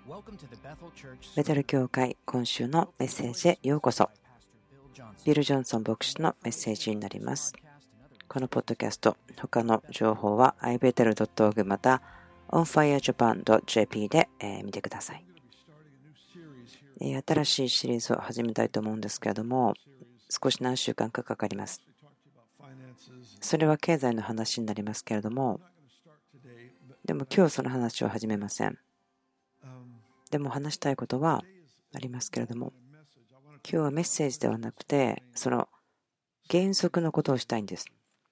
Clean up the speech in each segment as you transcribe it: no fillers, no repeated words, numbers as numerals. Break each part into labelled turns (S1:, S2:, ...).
S1: ベテル教会今週のメッセージへようこそ。ビル・ジョンソン牧師のメッセージになります。このポッドキャスト、他の情報は ibetel.org また onfirejapan.jp で見てください。新しいシリーズを始めたいと思うんですけれども、少し何週間かかかります。それは経済の話になりますけれども、でも今日その話を始めません。でも話したいことはありますけれども、今日はメッセージではなくて、その原則のことをしたいんです。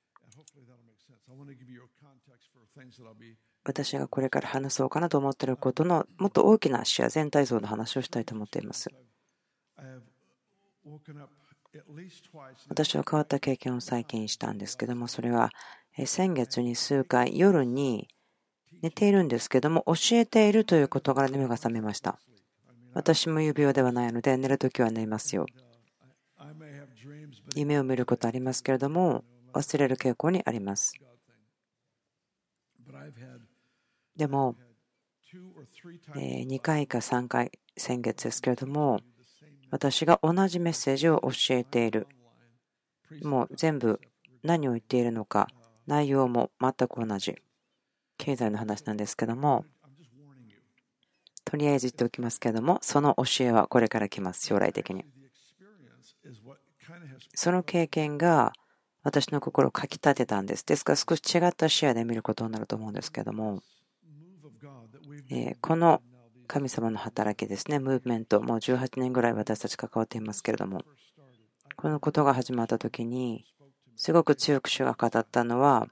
S1: 私がこれから話そうかなと思っていることのもっと大きな視野、全体像の話をしたいと思っています。私は変わった経験を最近したんですけども、それは先月に数回夜に寝ているんですけども、教えているという事柄に目が覚めました。私も指輪ではないので、寝るときは寝ますよ。夢を見ることありますけれども、忘れる傾向にあります。でも、2回か3回、先月ですけれども、私が同じメッセージを教えている。もう全部何を言っているのか、内容も全く同じ。経済の話なんですけども、とりあえず言っておきますけれども、その教えはこれから来ます、将来的に。その経験が私の心をかき立てたんです。ですから少し違った視野で見ることになると思うんですけれども、この神様の働きですね、ムーブメント、もう18年ぐらい私たち関わっていますけれども、このことが始まった時に、すごく強く主が語ったのは、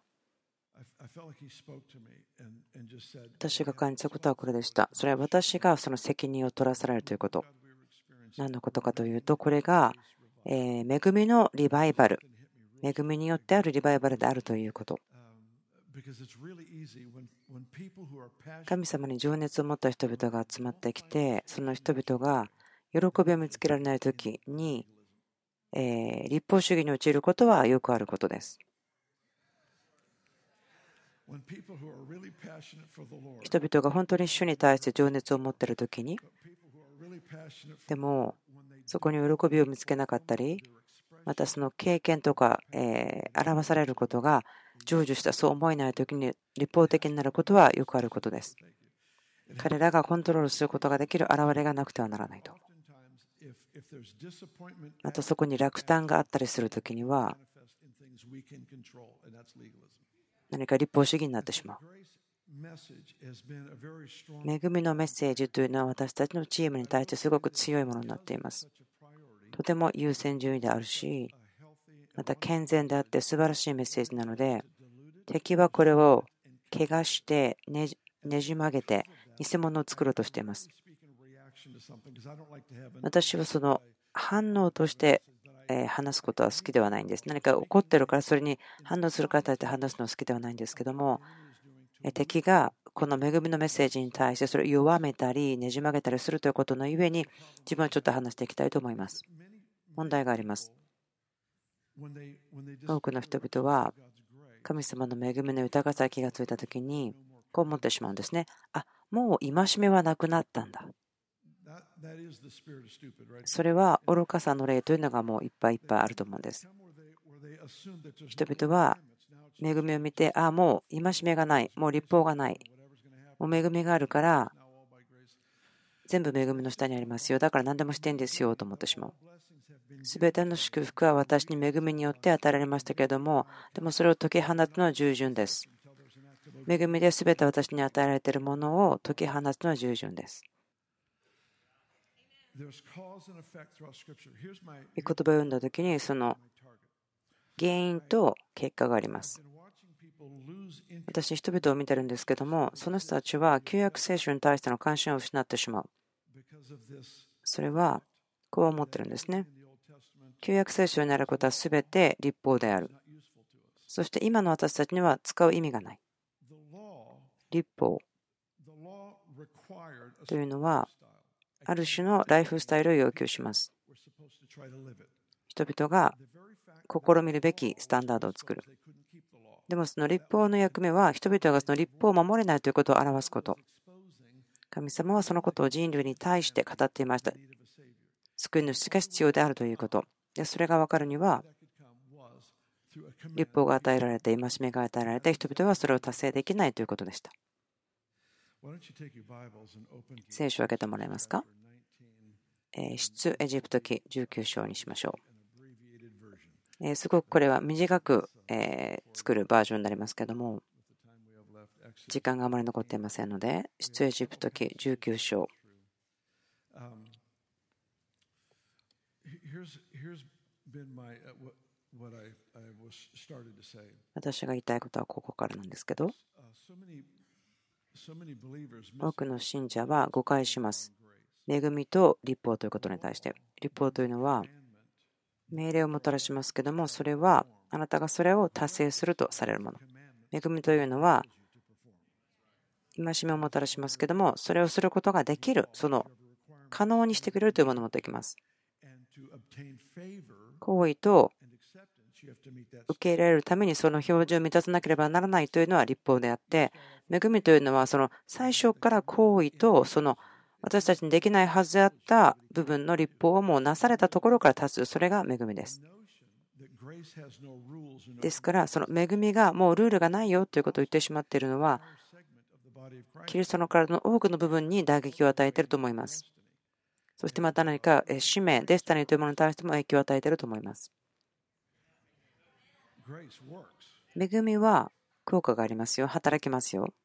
S1: 私が感じたことはこれでした。それは私がその責任を取らされるということ。何のことかというと、これが恵みのリバイバル、恵みによってあるリバイバルであるということ。神様に情熱を持った人々が集まってきて、その人々が喜びを見つけられないときに、立法主義に陥ることはよくあることです。人々が本当に主に対して情熱を持っているときに、でもそこに喜びを見つけなかったり、またその経験とか表されることが成就したそう思えないときに立法的になることはよくあることです。彼らがコントロールすることができる現れがなくてはならないと。またそこに落胆があったりするときには何か立法主義になってしまう。恵みのメッセージというのは私たちのチームに対してすごく強いものになっています。とても優先順位であるし、また健全であって素晴らしいメッセージなので、敵はこれを怪我してねじ曲げて偽物を作ろうとしています。私はその反応として話すことは好きではないんです。何か起こっているからそれに反応する方で話すのは好きではないんですけども、敵がこの恵みのメッセージに対してそれを弱めたりねじ曲げたりするということのゆえに自分はちょっと話していきたいと思います。問題があります。多くの人々は神様の恵みの豊かさに気がついたときにこう思ってしまうんですね。もう戒めはなくなったんだ。それは愚かさの例というのがもういっぱいいっぱいあると思うんです。人々は恵みを見て、もう戒めがない、もう律法がない、もう恵みがあるから全部恵みの下にありますよ、だから何でもしていいんですよと思ってしまう。すべての祝福は私に恵みによって与えられましたけれども、でもそれを解き放つのは従順です。恵みですべて私に与えられているものを解き放つのは従順です。御言葉を読んだときにその原因と結果があります。私、人々を見てるんですけども、その人たちは旧約聖書に対しての関心を失ってしまう。それはこう思ってるんですね。旧約聖書にあることはすべて律法である。そして今の私たちには使う意味がない。律法というのはある種のライフスタイルを要求します。人々が試みるべきスタンダードを作る。でもその律法の役目は人々がその律法を守れないということを表すこと。 神様はそのことを人類に対して語っていました。救い主が必要であるということ。で、それが分かるには、律法が与えられて、戒めが与えられて、人々はそれを達成できないということでした。聖書を開けてもらえますか。出エジプト記19章にしましょう。すごくこれは短く作るバージョンになりますけども、時間があまり残っていませんので、出エジプト記19章。私が言いたいことはここからなんですけど、多くの信者は誤解します。恵みと律法ということに対して。律法というのは命令をもたらしますけども、それはあなたがそれを達成するとされるもの。恵みというのは戒めをもたらしますけども、それをすることができる、その可能にしてくれるというものを持ってきます。行為と受け入れられるためにその標準を満たさなければならないというのは律法であって、恵みというのはその最初から行為とその私たちにできないはずであった部分の律法をもうなされたところから達する、それが恵みです。ですから、その恵みがもうルールがないよということを言ってしまっているのは、キリストの体の多くの部分に打撃を与えていると思います。そしてまた何か使命、デスタニーというものに対しても影響を与えていると思います。恵みは効果がありますよ。働きますよ。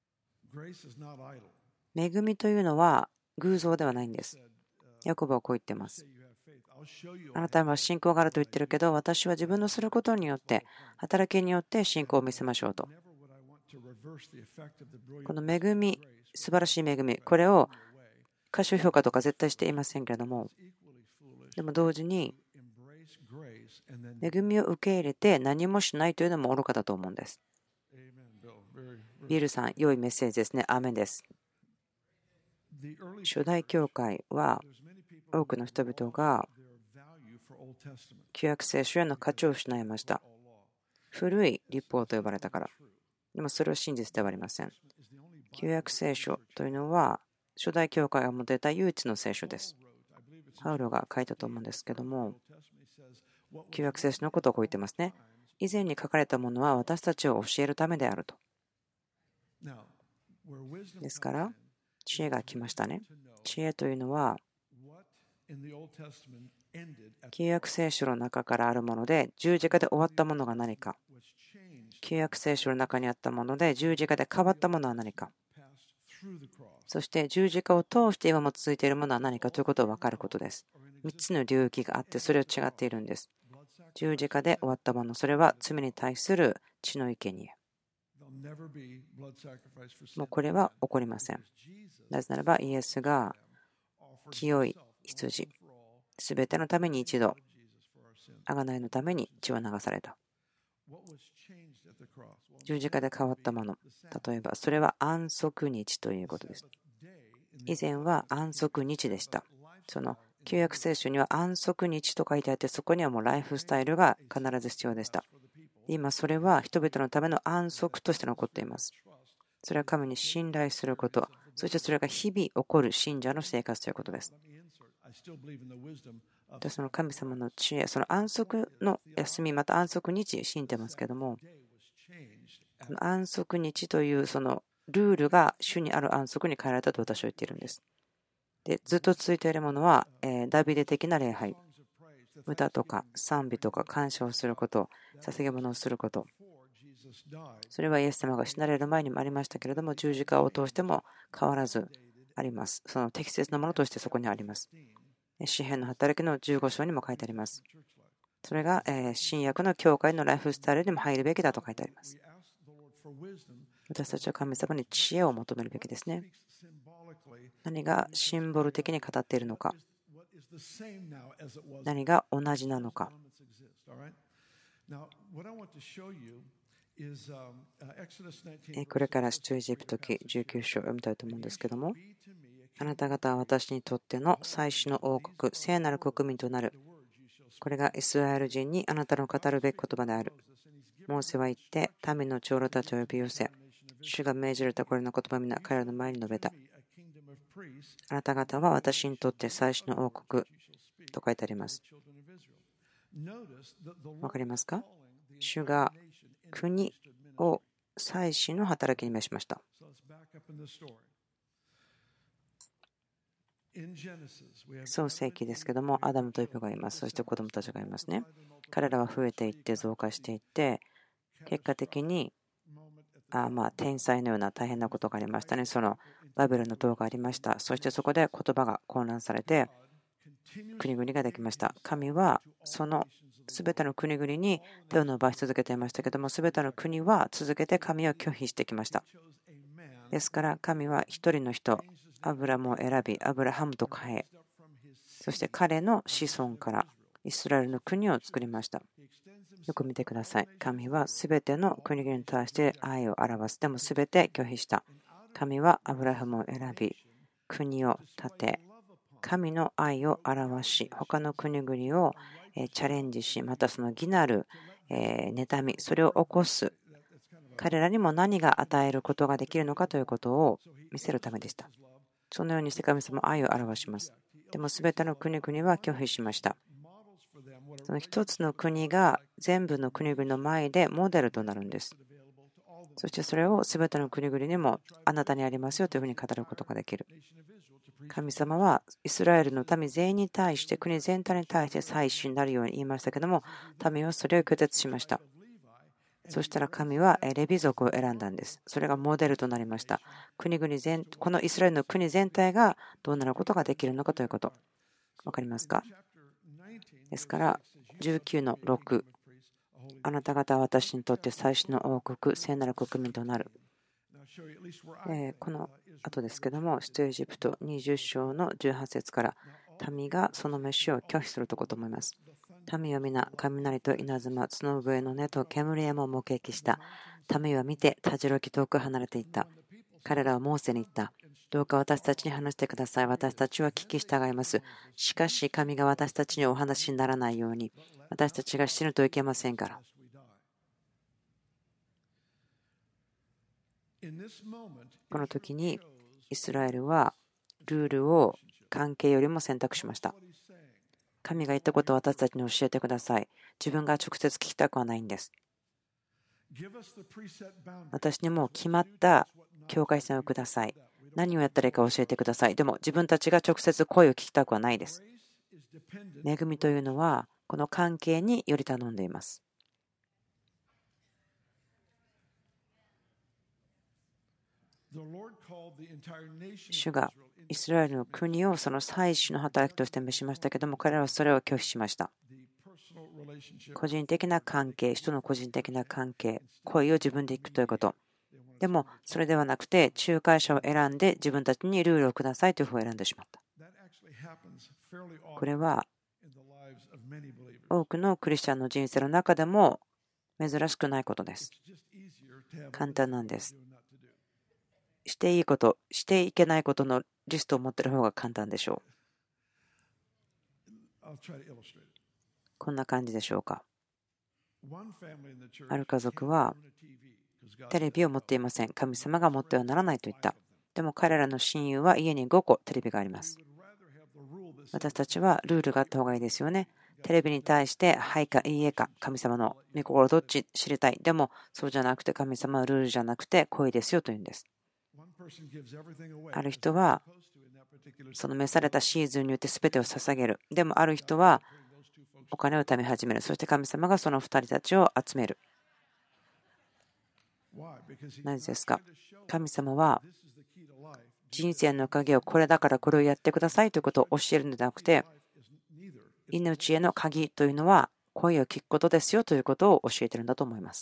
S1: 恵みというのは偶像ではないんです。ヤコブはこう言っています。あなたは信仰があると言ってるけど、私は自分のすることによって、働きによって信仰を見せましょうと。この恵み、素晴らしい恵み、これを過小評価とか絶対していませんけれども、でも同時に、恵みを受け入れて何もしないというのも愚かだと思うんです。ビルさん、良いメッセージですね。アーメンです。初代教会は多くの人々が旧約聖書への価値を失いました。古い律法と呼ばれたから。でもそれは真実ではありません。旧約聖書というのは初代教会が持っていた唯一の聖書です。パウロが書いたと思うんですけども、旧約聖書のことをこう言ってますね。以前に書かれたものは私たちを教えるためであると。ですから、知恵が来ましたね。知恵というのは、旧約聖書の中からあるもので、十字架で終わったものが何か。旧約聖書の中にあったもので、十字架で変わったものは何か。そして十字架を通して今も続いているものは何かということを分かることです。3つの領域があって、それを違っているんです。十字架で終わったもの、それは罪に対する血の生贄。もうこれは起こりません。なぜならば、イエスが清い羊、すべてのために一度、贖いのために血を流された。十字架で変わったもの、例えばそれは安息日ということです。以前は安息日でした。その旧約聖書には安息日と書いてあって、そこにはもうライフスタイルが必ず必要でした。今それは人々のための安息として残っています。それは神に信頼すること、そしてそれが日々起こる信者の生活ということです。で、その神様の知恵、その安息の休み、また安息日、信じてますけども、安息日というそのルールが主にある安息に変えられたと私は言っているんです。で、ずっと続いているものは、ダビデ的な礼拝、歌とか賛美とか感謝をすること、捧げ物をすること、それはイエス様が死なれる前にもありましたけれども、十字架を通しても変わらずあります。その適切なものとしてそこにあります。詩編の働きの15章にも書いてあります。それが新約の教会のライフスタイルにも入るべきだと書いてあります。私たちは神様に知恵を求めるべきですね。何がシンボル的に語っているのか、何が同じなのか。これから出エジプト記19章を読みたいと思うんですけども、あなた方は私にとっての最初の王国、聖なる国民となる。これがイスラエル人にあなたの語るべき言葉である。モーセは言って、民の長老たちを呼び寄せ、主が命じられたこれの言葉を皆彼らの前に述べた。 あなた方は私にとって祭司の王国と書いてあります。わかりますか？主が国を祭司の働きに召しました。創世記ですけども、アダムとイブがいます。そして子供たちがいますね。彼らは増えていって増加していって、結果的に天才のような大変なことがありましたね。そのバベルの塔がありました。そしてそこで言葉が混乱されて国々ができました。神はそのすべての国々に手を伸ばし続けていましたけども、すべての国は続けて神を拒否してきました。ですから神は一人の人、アブラムを選び、アブラハムと変え、そして彼の子孫からイスラエルの国を作りました。よく見てください。神はすべての国々に対して愛を表す。でもすべて拒否した。神はアブラハムを選び、国を建て、神の愛を表し、他の国々をチャレンジし、またその義なる妬み、それを起こす。彼らにも何が与えることができるのかということを見せるためでした。そのようにして神様は愛を表します。でもすべての国々は拒否しました。その一つの国が全部の国々の前でモデルとなるんです。そしてそれをすべての国々にもあなたにありますよというふうに語ることができる。神様はイスラエルの民全員に対して、国全体に対して祭司になるように言いましたけども、民はそれを拒絶しました。そしたら神はレビ族を選んだんです。それがモデルとなりました。このイスラエルの国全体がどうなることができるのかということ。わかりますか？ですから19の6、あなた方は私にとって祭司の王国、聖なる国民となる。この後ですけども、出エジプト20章の18節から、民がその飯を拒否するところと思います。民は皆、雷と稲妻、角笛の音と煙山を目撃した。民は見て、たじろき遠く離れていった。彼らはモーセに言った。どうか私たちに話してください。私たちは聞き従います。しかし、神が私たちにお話にならないように、私たちが死ぬといけませんから。この時にイスラエルはルールを関係よりも選択しました。神が言ったことを私たちに教えてください。自分が直接聞きたくはないんです。私にも決まった境界線をください。何をやったらいいか教えてください。でも自分たちが直接声を聞きたくはないです。恵みというのはこの関係により頼んでいます。主がイスラエルの国をその祭司の働きとして召しましたけども、彼らはそれを拒否しました。個人的な関係、人の個人的な関係、恋を自分で行くということ。でもそれではなくて、仲介者を選んで自分たちにルールをくださいというふうを選んでしまった。これは多くのクリスチャンの人生の中でも珍しくないことです。簡単なんです。していいこと、していけないことのリストを持っている方が簡単でしょう。こんな感じでしょうか。ある家族はテレビを持っていません。神様が持ってはならないと言った。でも彼らの親友は家に5個テレビがあります。私たちはルールがあった方がいいですよね。テレビに対してはいかいいえか、神様の御心どっち知りたい。でもそうじゃなくて、神様はルールじゃなくて恋ですよというんです。ある人はその召されたシーズンによって全てを捧げる。でもある人はお金を貯め始める。そして神様がその2人たちを集める。なぜですか？神様は人生の鍵をこれだからこれをやってくださいということを教えるのではなくて、命への鍵というのは声を聞くことですよということを教えているんだと思います。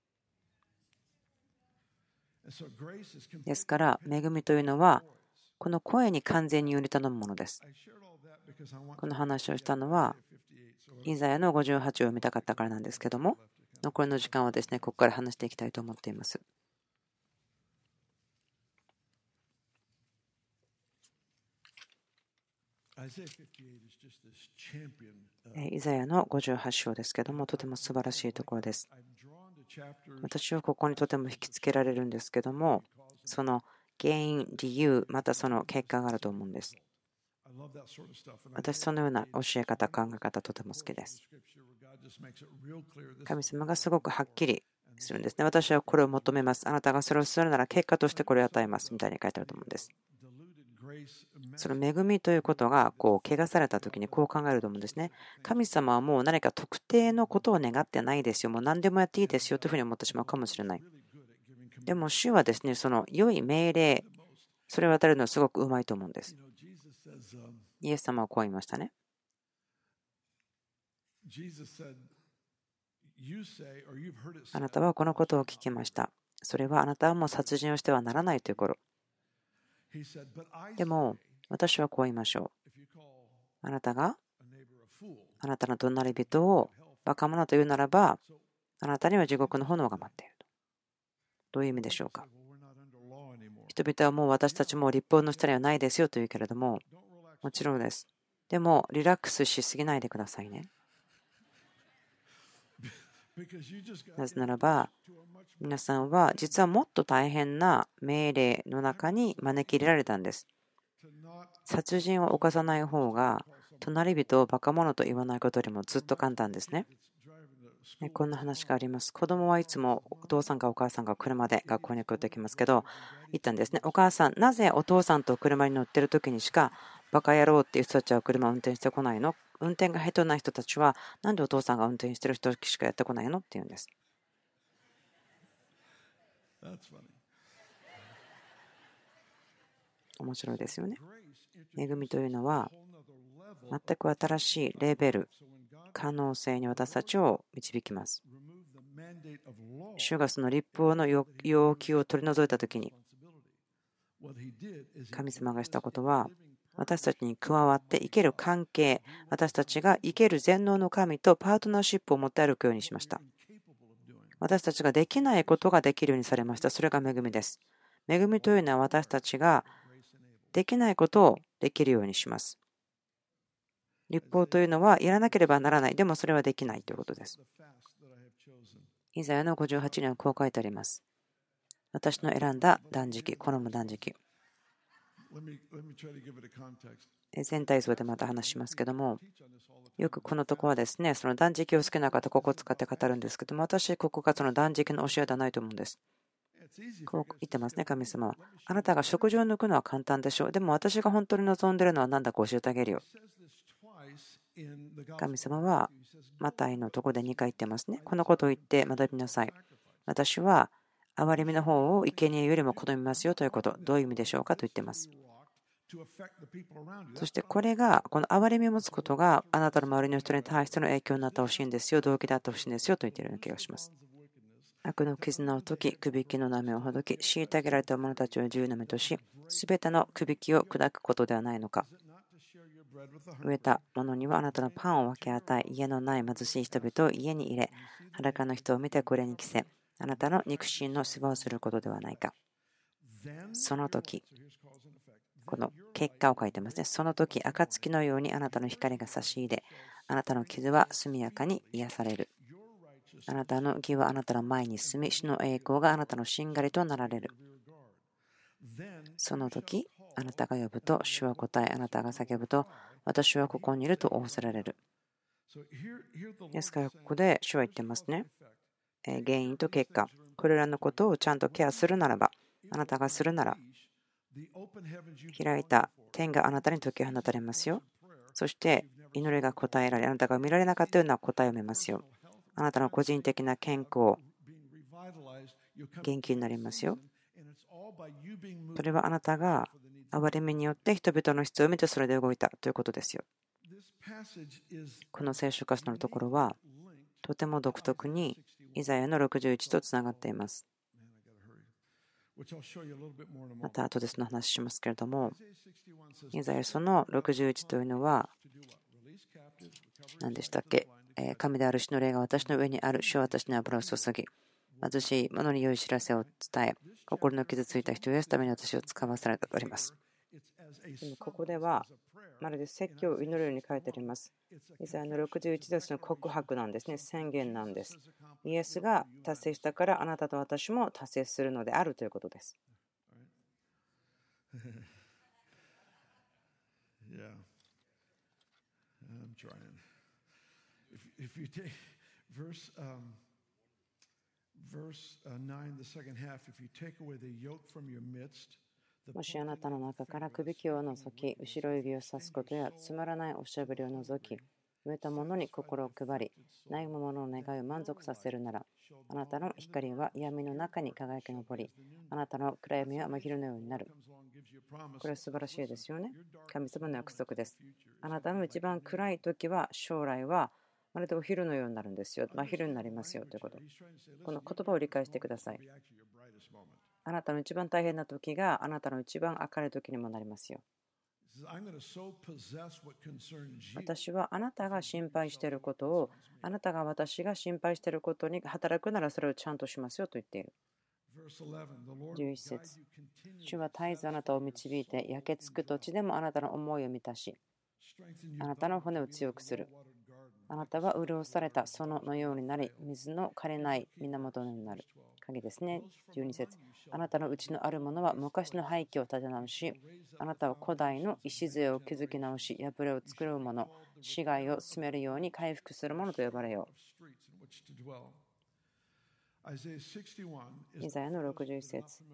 S1: ですから恵みというのはこの声に完全により頼むものです。この話をしたのはイザヤの58を読みたかったからなんですけども、残りの時間はですね、ここから話していきたいと思っています。イザヤの58章ですけども、とても素晴らしいところです。私はここにとても引きつけられるんですけども、その原因、理由、またその結果があると思うんです。私、そのような教え方、考え方、とても好きです。神様がすごくはっきりするんですね。私はこれを求めます。あなたがそれをするなら結果としてこれを与えますみたいに書いてあると思うんです。その恵みということが汚された時にこう考えると思うんですね。神様はもう何か特定のことを願ってないですよ。もう何でもやっていいですよというふうに思ってしまうかもしれない。でも主はですね、その良い命令、それを与えるのはすごくうまいと思うんです。イエス様はこう言いましたね。あなたはこのことを聞きました。それはあなたはもう殺人をしてはならないという頃。でも私はこう言いましょう。あなたがあなたの隣人をバカ者というならば、あなたには地獄の炎が待っていると。どういう意味でしょうか。人々はもう私たちも立法の下にはないですよと言うけれども、もちろんです。でもリラックスしすぎないでくださいね。なぜならば、皆さんは実はもっと大変な命令の中に招き入れられたんです。殺人を犯さない方が、隣人をバカ者と言わないことよりもずっと簡単ですね。こんな話があります。子供はいつもお父さんかお母さんが車で学校に送ってきますけど、言ったんですね。お母さん、なぜお父さんと車に乗ってる時にしかバカ野郎っていう人たちは車を運転してこないの？運転が下手な人たちはなんでお父さんが運転してる人しかやってこないのって言うんです。面白いですよね。恵みというのは全く新しいレベル、可能性に私たちを導きます。主がその立法の要求を取り除いたときに、神様がしたことは、私たちに加わって生ける関係、私たちが生ける全能の神とパートナーシップを持って歩くようにしました。私たちができないことができるようにされました。それが恵みです。恵みというのは私たちができないことをできるようにします。立法というのはやらなければならない。でもそれはできないということです。イザヤの58年はこう書いてあります。私の選んだ断食、好む断食。全体像でまた話しますけども、よくこのとこはですね、その断食を好きな方、ここを使って語るんですけども、私、ここがその断食の教えではないと思うんです。こう言ってますね、神様は。あなたが食事を抜くのは簡単でしょう。でも私が本当に望んでいるのは何だか教えてあげるよ。神様はマタイのところで2回言ってますね。このことを言って学びなさい。私は憐れみの方を生贄よりも好みますよということ。どういう意味でしょうかと言っています。そしてこれが、この憐れみを持つことがあなたの周りの人に対しての影響になってほしいんですよ、動機であってほしいんですよと言っているような気がします。悪の絆を解き、くびきの波をほどき、虐げられた者たちを自由の身とし、すべてのくびきを砕くことではないのか。飢えた者にはあなたのパンを分け与え、家のない貧しい人々を家に入れ、裸の人を見てこれに着せ、あなたの肉親の世話をすることではないか。その時、この結果を書いてますね。その時、暁のようにあなたの光が差し入れ、あなたの傷は速やかに癒される。あなたの義はあなたの前に住み、主の栄光があなたのしんがりとなられる。その時、あなたが呼ぶと、主は答え、あなたが叫ぶと、私はここにいると仰せられる。ですから、ここで主は言ってますね。原因と結果、これらのことをちゃんとケアするならば、あなたがするなら、開いた天があなたに解き放たれますよ。そして祈りが答えられ、あなたが見られなかったような答えを見ますよ。あなたの個人的な健康、元気になりますよ。それはあなたが憐れみによって人々の必要を見てそれで動いたということですよ。この聖書箇所のところはとても独特にイザヤの61とつながっています。また後でその話しますけれども、イザヤその61というのは何でしたっけ。神である主の霊が私の上にある。主は私に油を注ぎ、貧しい者に良い知らせを伝え、心の傷ついた人を癒すために私を使わされたとあります。でもここではまるで説教を祈るように書いてあります。イザヤの61節の告白なんですね。宣言なんです。イエスが達成したからあなたと私も達成するのであるということです。
S2: Yeah, I'm trying. If you take verse 9, the second half, if you take away the yoke from your midst,
S1: もしあなたの中からくびきを除き、後ろ指を指すことやつまらないおしゃべりを除き、植えたものに心を配り、悩む者の願いを満足させるなら、あなたの光は闇の中に輝き上り、あなたの暗闇は真昼のようになる。これは素晴らしいですよね。神様の約束です。あなたの一番暗い時は、将来はまるでお昼のようになるんですよ。真昼になりますよということ。この言葉を理解してください。あなたの一番大変な時があなたの一番明るい時にもなりますよ。私はあなたが心配していることを、あなたが私が心配していることに働くならそれをちゃんとしますよと言っている。11節、主は絶えずあなたを導いて、焼けつく土地でもあなたの思いを満たし、あなたの骨を強くする。あなたは潤された園のようになり、水の枯れない源のようになる。鍵ですね。12節、あなたのうちのあるものは昔の廃墟を立て直し、あなたは古代の礎を築き直し、破れを作る者、死骸を進めるように回復する者と呼ばれよう。イザヤの61節、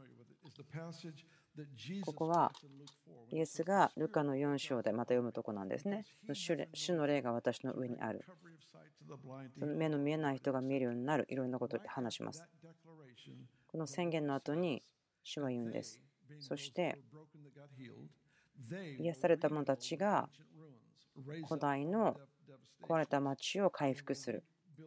S1: ここはイエスがルカの4章でまた読むとこなんですね。主の霊が私の上にある。その目の見えない人が見えるようになる、いろんなことで話します。この宣言の後に主は言うんです。そして癒された者たちが古代の壊れた町を回復する。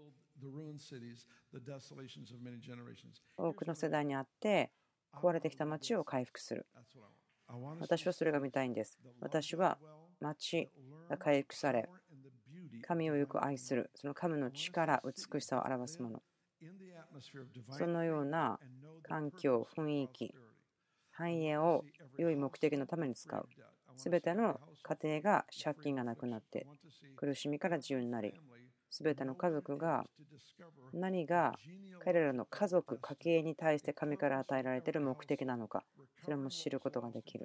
S1: 多くの世代にあって壊れてきた町を回復する。私はそれが見たいんです。私は町が回復され、神をよく愛する、その神の力、美しさを表すもの。そのような環境、雰囲気、繁栄を良い目的のために使う。すべての家庭が借金がなくなって、苦しみから自由になり、すべての家族が何が彼らの家族、家計に対して神から与えられている目的なのか、それも知ることができる。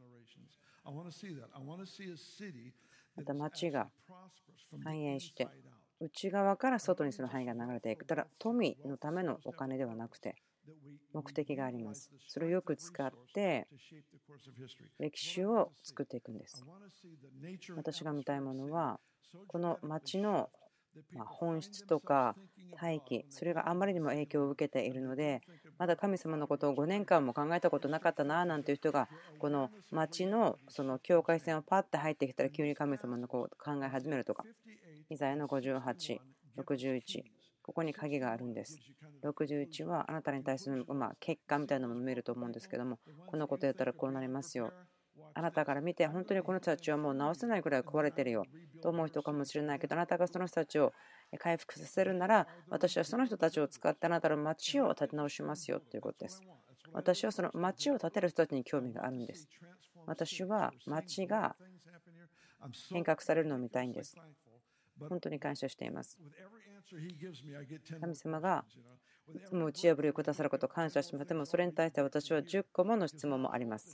S1: また町が繁栄して、内側から外にその範囲が流れていく。ただ、富のためのお金ではなくて、目的があります。それをよく使って歴史を作っていくんです。私が見たいものは、この町の本質とか大気、それがあまりにも影響を受けているので、まだ神様のことを5年間も考えたことなかったななんていう人が、この町のその境界線をパッて入ってきたら急に神様のことを考え始めるとか、イザヤの58、61、ここに鍵があるんです。61はあなたに対する結果みたいなものを見ると思うんですけども、このことやったらこうなりますよ。あなたから見て本当にこの人たちはもう直せないくらい壊れてるよと思う人かもしれないけど、あなたがその人たちを回復させるなら、私はその人たちを使ってあなたの町を立て直しますよということです。私はその町を建てる人たちに興味があるんです。私は町が変革されるのを見たいんです。本当に感謝しています。神様がいつも打ち破りをくださることを感謝します。でもそれに対して私は10個もの質問もあります。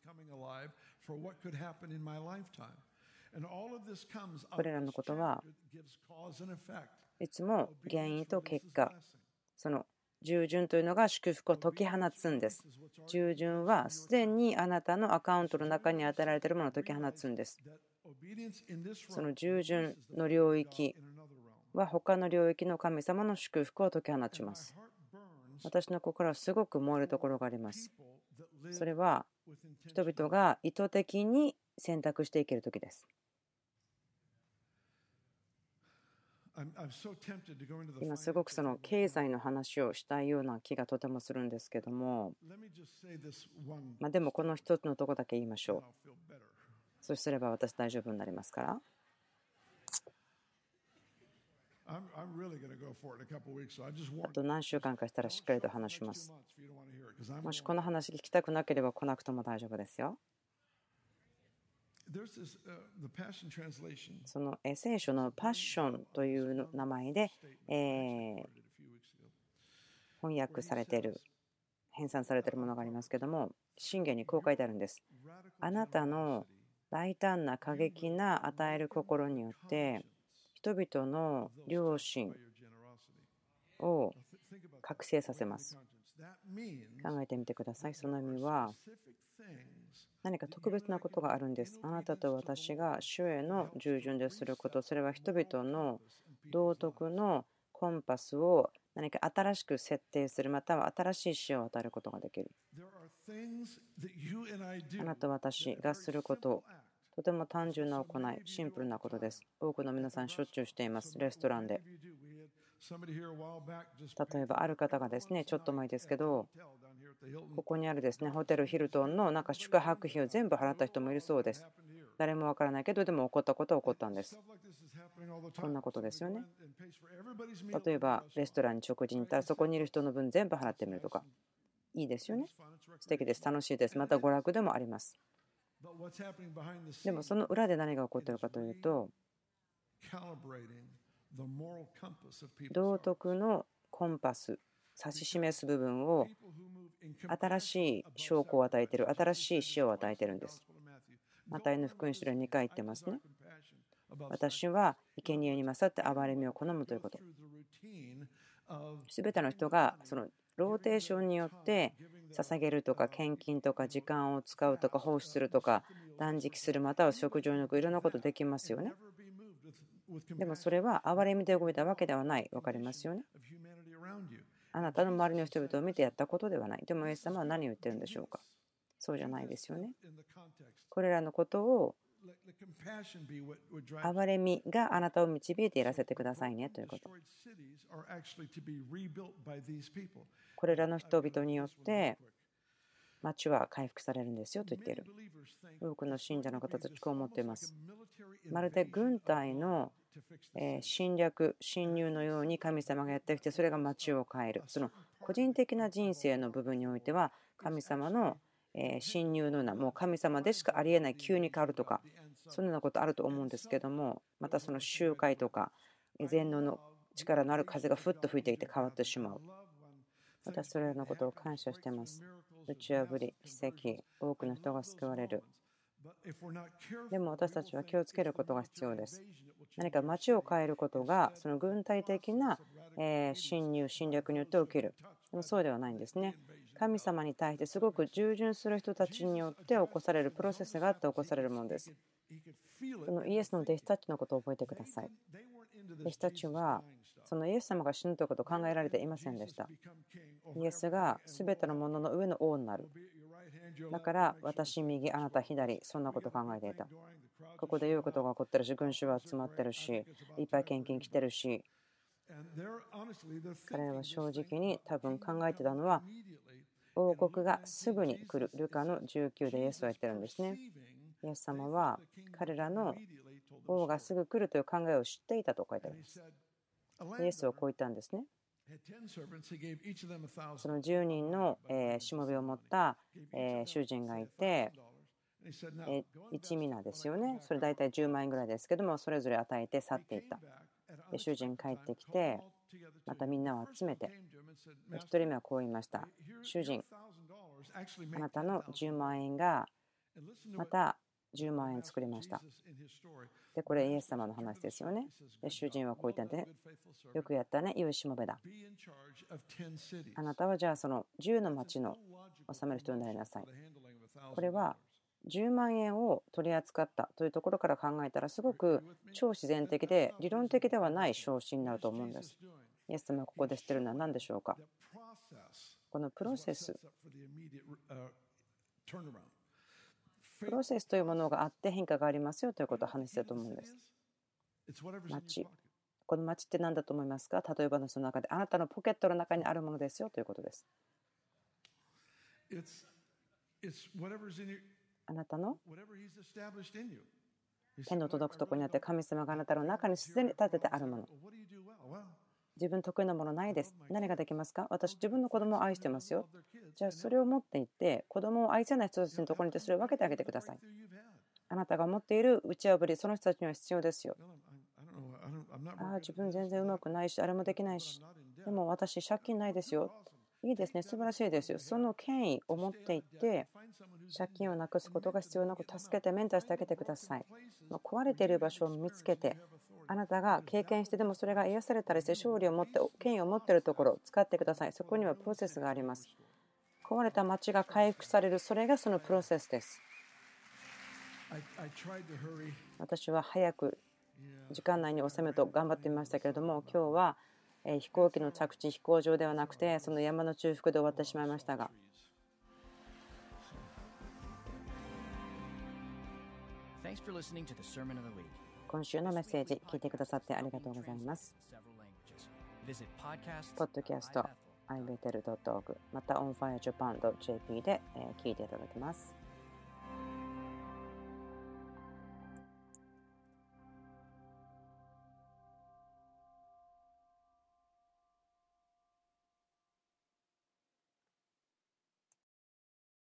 S1: これらのことはいつも原因と結果、その従順というのが祝福を解き放つんです。従順はすでにあなたのアカウントの中に与えられているものを解き放つんです。その従順の領域は他の領域の神様の祝福を解き放ちます。私の心はすごく燃えるところがあります。それは人々が意図的に選択していけるときです。今すごくその経済の話をしたいような気がとてもするんですけども、でもこの一つのところだけ言いましょう。そうすれば私大丈夫になりますから。あと何週間かしたらしっかりと話します。もしこの話聞きたくなければ来なくても大丈夫ですよ。その聖書のパッションという名前で翻訳されている編纂されているものがありますけども、箴言にこう書いてあるんです。あなたの大胆な過激な与える心によって人々の良心を覚醒させます。考えてみてください。その意味は何か特別なことがあるんです。あなたと私が主への従順ですること、それは人々の道徳のコンパスを何か新しく設定する、または新しい視野を与えることができる。あなたと私がすること、とても単純な行い、シンプルなことです。多くの皆さんしょっちゅうしています。レストランで。例えばある方がですね、ちょっと前ですけど、ここにあるですね、ホテルヒルトンの宿泊費を全部払った人もいるそうです。誰もわからないけど、でも起こったことは起こったんです。こんなことですよね。例えばレストランに食事に行ったら、そこにいる人の分全部払ってみるとか。いいですよね。素敵です。楽しいです。また娯楽でもあります。でもその裏で何が起こっているかというと、道徳のコンパス、指し示す部分を新しい証拠を与えている、新しい視野を与えているんです。マタイの福音書で2回言ってますね。私は生贄に勝って憐れみを好むということ。すべての人がそのローテーションによって捧げるとか献金とか時間を使うとか奉仕するとか断食する、または食事を抜く、いろんなことできますよね。でもそれは憐れみで動いたわけではない。わかりますよね。あなたの周りの人々を見てやったことではない。でもイエス様は何を言ってるんでしょうか。そうじゃないですよね。これらのことを憐れみがあなたを導いていらせてくださいねということ。これらの人々によって町は回復されるんですよと言っている。多くの信者の方たちこう思っています。まるで軍隊の侵略、侵入のように神様がやってきて、それが町を変える。その個人的な人生の部分においては神様の侵入のような、もう神様でしかありえない急に変わるとか、そのようなことあると思うんですけども、またその集会とか全能の力のある風がふっと吹いてきて変わってしまう。私それらのことを感謝しています。打ち破り、奇跡、多くの人が救われる。でも私たちは気をつけることが必要です。何か町を変えることがその軍隊的な侵入、侵略によって起きる。でもそうではないんですね。神様に対してすごく従順する人たちによって起こされるプロセスがあって起こされるものです。そのイエスの弟子たちのことを覚えてください。弟子たちはそのイエス様が死ぬということを考えられていませんでした。イエスがすべてのものの上の王になる。だから私右、あなた左、そんなことを考えていた。ここで良いことが起こってるし、群衆は集まってるし、いっぱい献金来てるし、彼らは正直に多分考えてたのは、王国がすぐに来る。ルカの19でイエスは言ってるんですね。イエス様は彼らの王がすぐ来るという考えを知っていたと書いてあります。イエスはこう言ったんですね。その10人のしもべを持った主人がいて、1ミナですよね。それ大体10万円ぐらいですけども、それぞれ与えて去っていった。で主人帰ってきて、またみんなを集めて、1人目はこう言いました。主人、あなたの10万円がまた10万円作りました。でこれイエス様の話ですよね。で主人はこう言ったんで、よくやったね、良いしもべだ。あなたはじゃあその10の町の治める人になりなさい。これは10万円を取り扱ったというところから考えたら、すごく超自然的で理論的ではない昇進になると思うんです。イエス様がここでしているのは何でしょうか。このプロセスというものがあって変化がありますよということを話していたと思うんです。町、この町って何だと思いますか。例えばのその中であなたのポケットの中にあるものですよということです。あなたの手の届くところにあって、神様があなたの中にすでに立ててあるもの。自分得意なものないです。何ができますか。私自分の子供を愛してますよ。じゃあそれを持っていって子供を愛せない人たちのところに行ってそれを分けてあげてください。あなたが持っている打ち破り、その人たちには必要ですよ。自分全然うまくないし、あれもできないし、でも私借金ないですよ。 いいですね。素晴らしいですよ。その権威を持っていって、借金をなくすことが必要なく助けてメンターしてあげてください。壊れている場所を見つけて、あなたが経験して、でもそれが癒されたりして、勝利を持って、権威を持っているところを使ってください。そこにはプロセスがあります。壊れた町が回復される、それがそのプロセスです。私は早く時間内に収めると頑張ってみましたけれども、今日は飛行機の着地、飛行場ではなくて、その山の中腹で終わってしまいましたが、今週のメッセージ聞いてくださってありがとうございます。ポッドキャスト、ibetel.org、また onfirejapan.jp で聞いていただけます。